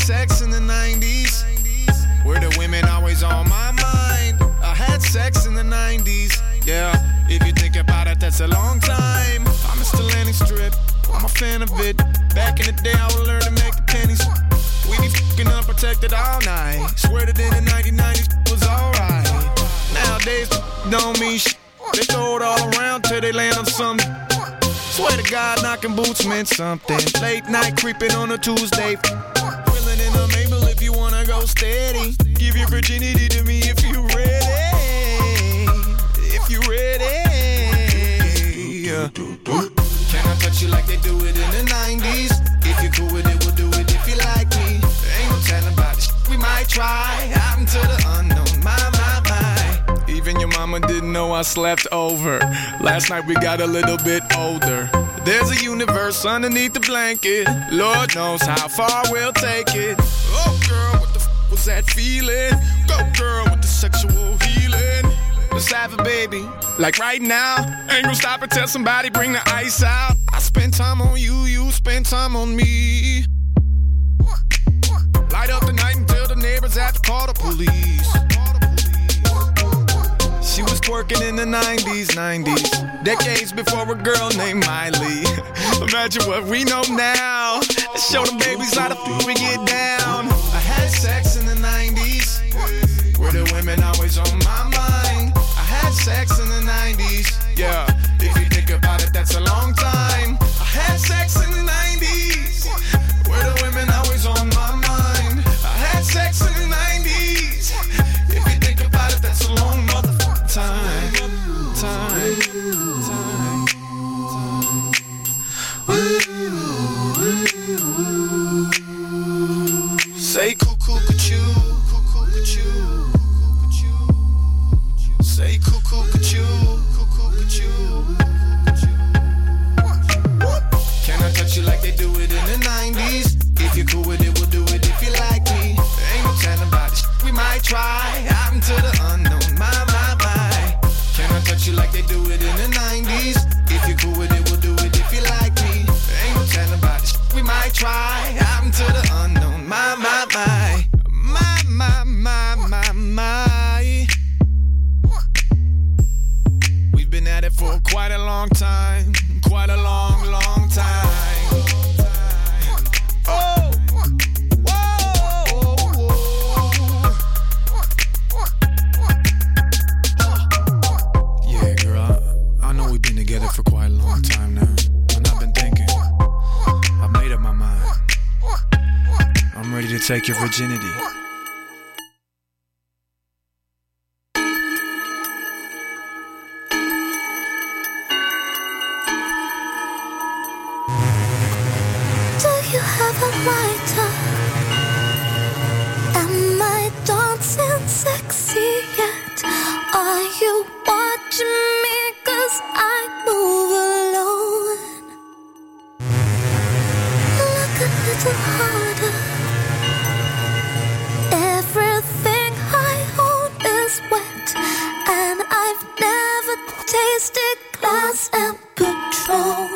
sex in the 90s, where the women always on my mind. I had sex in the 90s, yeah. If you think about it, that's a long time. I'm a Stellani strip, I'm a fan of it. Back in the day, I would learn to make the pennies. We be fucking unprotected all night. Swear that in the 1990s was alright. Nowadays, don't mean shit. They throw it all around till they land on something. Swear to God, knocking boots meant something. Late night creeping on a Tuesday. Willing in a Mabel if you wanna go steady. Give your virginity to me if you ready. If you ready. Yeah. Can I touch you like they do it in the 90s? If you're cool with it, we'll do it if you like me. There ain't no telling about this shit we might try. Out into the unknown, my. Even your mama didn't know I slept over. Last night we got a little bit older. There's a universe underneath the blanket. Lord knows how far we'll take it. Oh girl, what the was that feeling? Go girl with the sexual healing. Let's have a baby, like right now. Ain't gonna stop until somebody bring the ice out. I spend time on you, you spend time on me. Light up the night until the neighbors have to call the police. She was twerking in the 90s, decades before a girl named Miley. Imagine what we know now. Let's show the babies how the we get down. I had sex in the 90s, where the women always on my mind. I had sex in the 90s, yeah. If you think about it, that's a long time. I had sex in the 90s, where the women always on my mind. I had sex in the 90s. If you think about it, that's a long motherfucking time. Say cuckoo, cuckoo, cuckoo, cuckoo, cuckoo. Say cuckoo, cuckoo, cuckoo, cuckoo. Can I touch you like they do it in the 90s? If you're cool with it, we'll do it if you like me. There ain't no telling about this shit we might try. Out into the unknown, my. Can I touch you like they do it in the 90s? If you're cool with it, we'll do it if you like me. There ain't no telling about this shit we might try. Out into the unknown, my. We've been at it for quite a long time. Quite a long time. Oh, whoa. Yeah, girl, I know we've been together for quite a long time now. And I've been thinking, I've made up my mind. I'm ready to take your virginity. Am I dancing sexy yet? Are you watching me? 'Cause I move alone. Look a little harder. Everything I own is wet, and I've never tasted glass and Patron.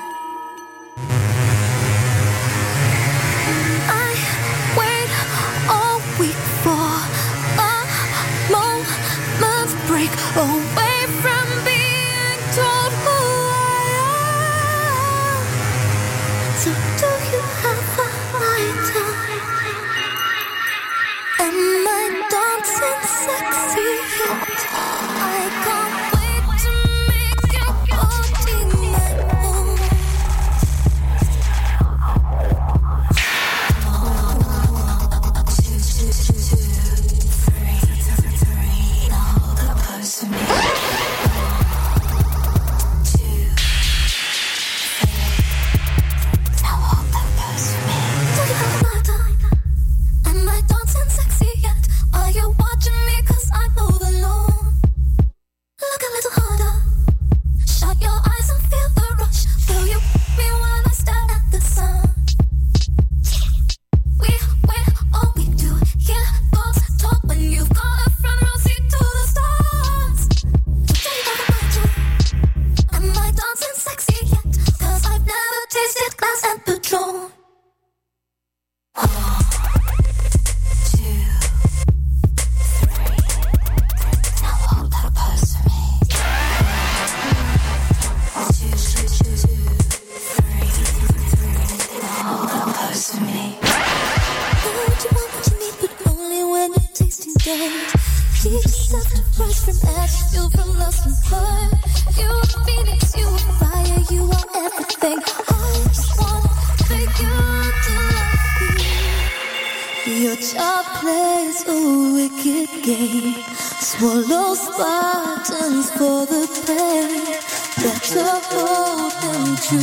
Break away from being told who I am. So do you have a lighter? stage. Teach yourself to rise from ash, feel from lost and hurt. You are phoenix, you are fire, you are everything. I just want for you to love you. Your child plays a wicked game. Swallow Spartans for the pain. Better hold them to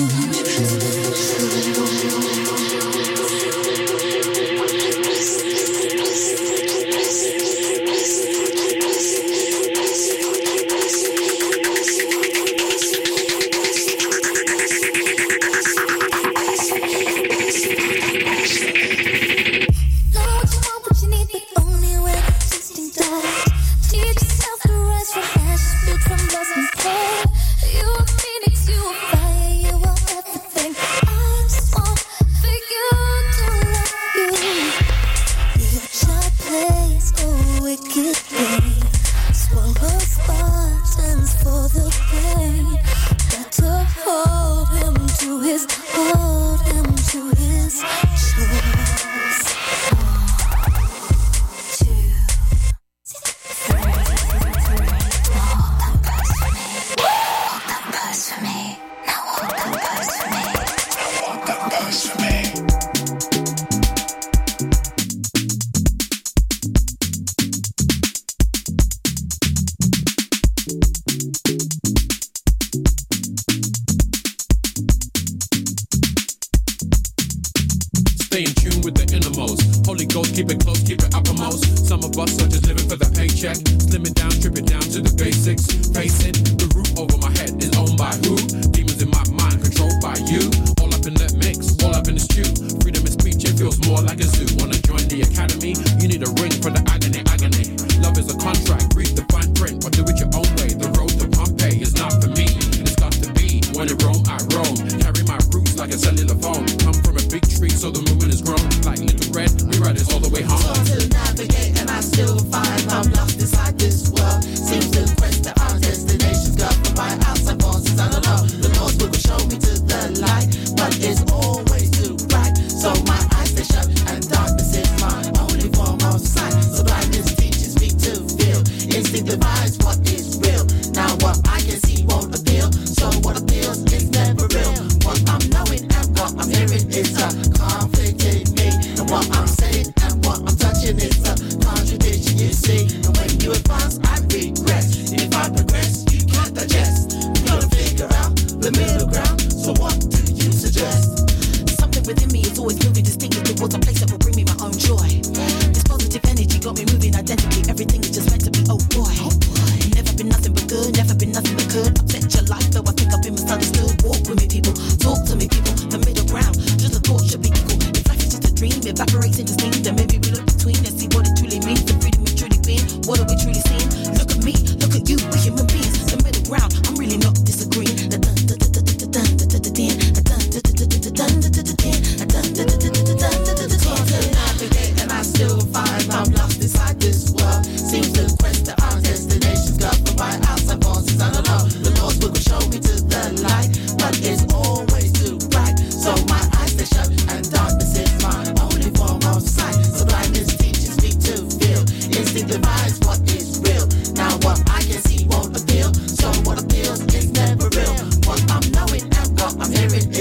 I'm hearing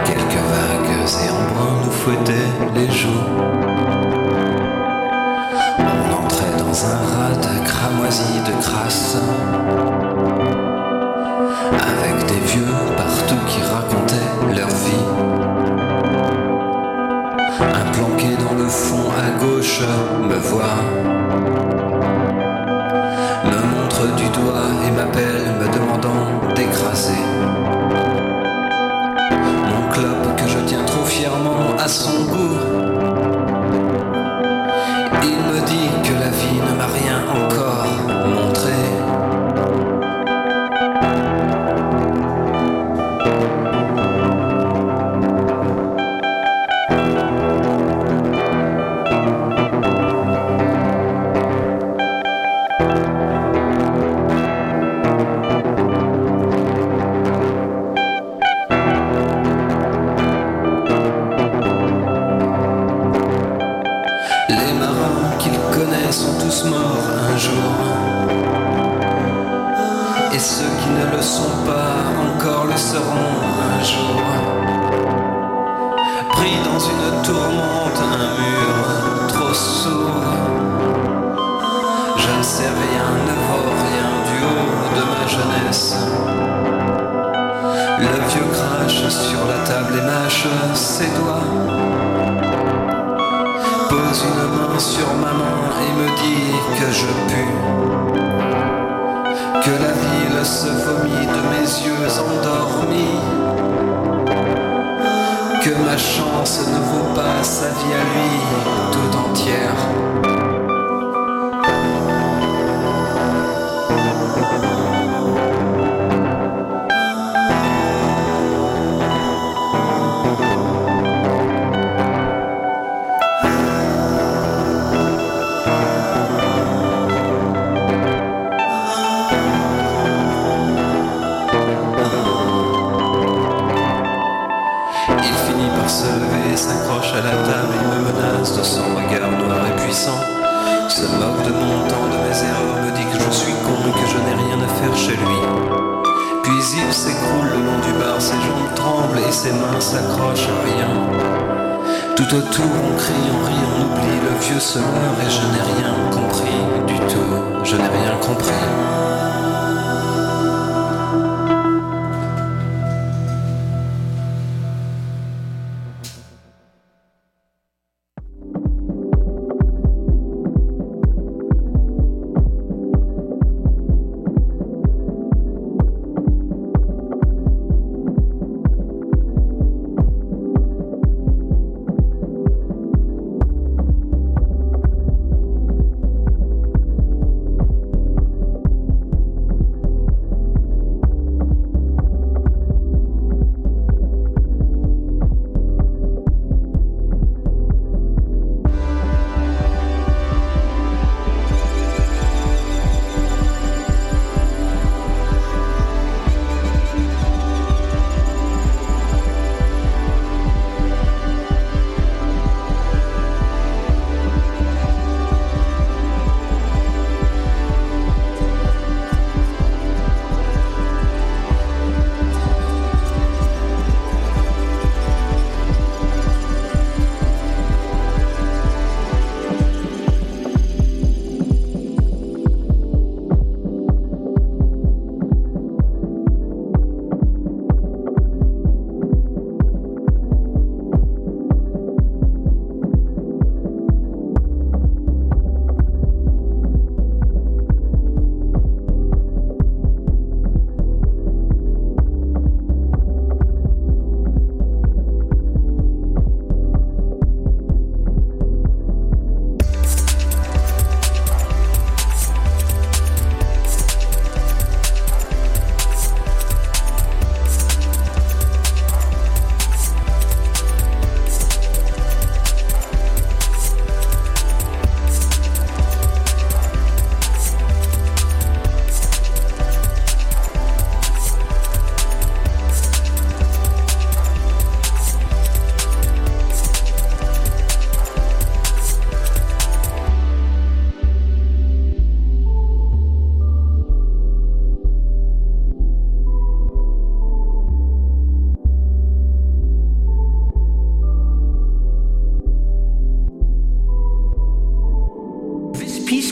Quelques vagues et embruns nous fouettaient les joues. On entrait dans un rade cramoisi de crasse, avec des vieux partout qui racontaient leur vie. Un planqué dans le fond à gauche me voit, me montre du doigt et m'appelle me demandant d'écraser mon clope que je tiens trop fièrement à son goût. Il me dit que la vie ne m'a rien encore montré. Tout autour on crie, on rit, on oublie, le vieux se meurt et je n'ai rien compris du tout, je n'ai rien compris.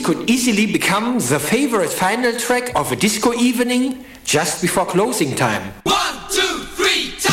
could easily become the favorite final track of a disco evening just before closing time. 1, 2, 3, time!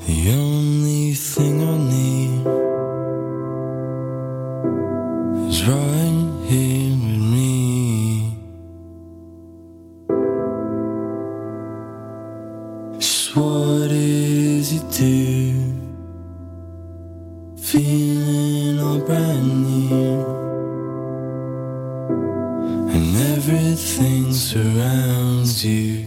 The only thing I need is right here with me. It's what it is you do, feeling all brand new, and everything surrounds you.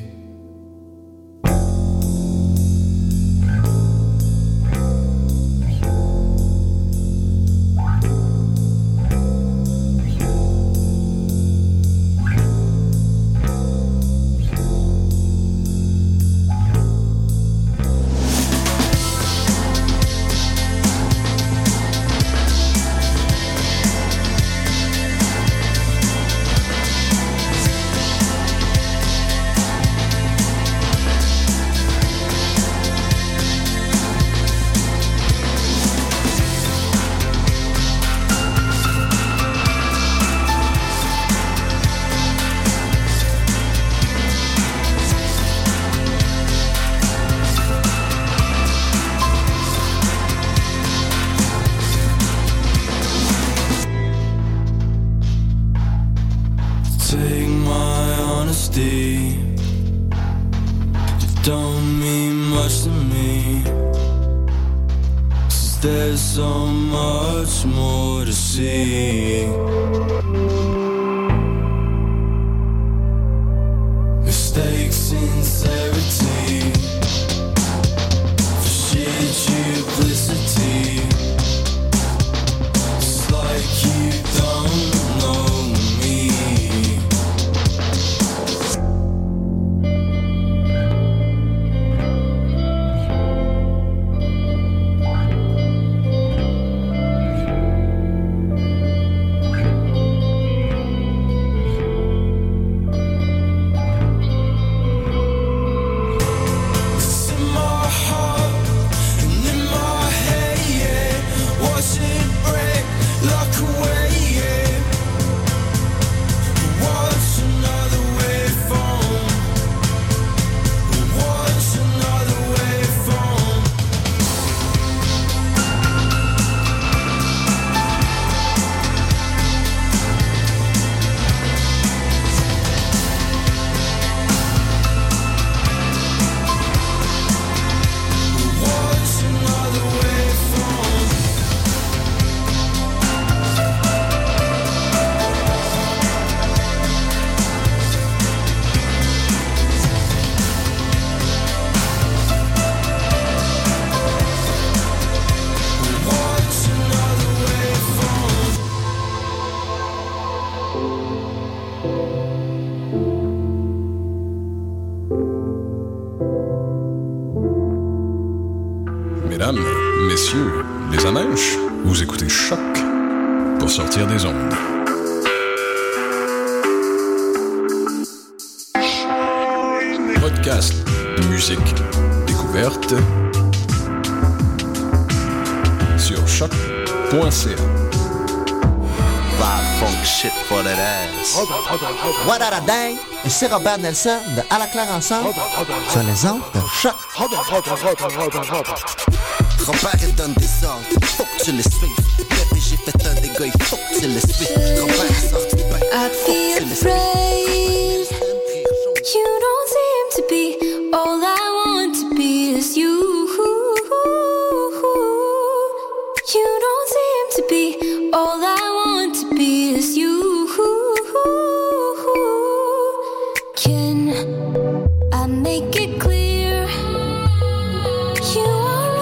Take my honesty, it don't mean much to me, 'cause there's so much more to see. Mistakes, sincerity, for shit, duplicity. It's like you don't know me. Mesdames, messieurs, les amèches, vous écoutez Choc pour sortir des ondes. Podcast, musique, découverte sur choc.ca. Funk shit for that ass. What a dang! C'est Robert Nelson de À la claire ensemble sur les ondes de Choc. Robert il donne des ordres, faut que tu les suives. Bébé j'ai fait un dégât, il faut que tu les suives. Robert est sorti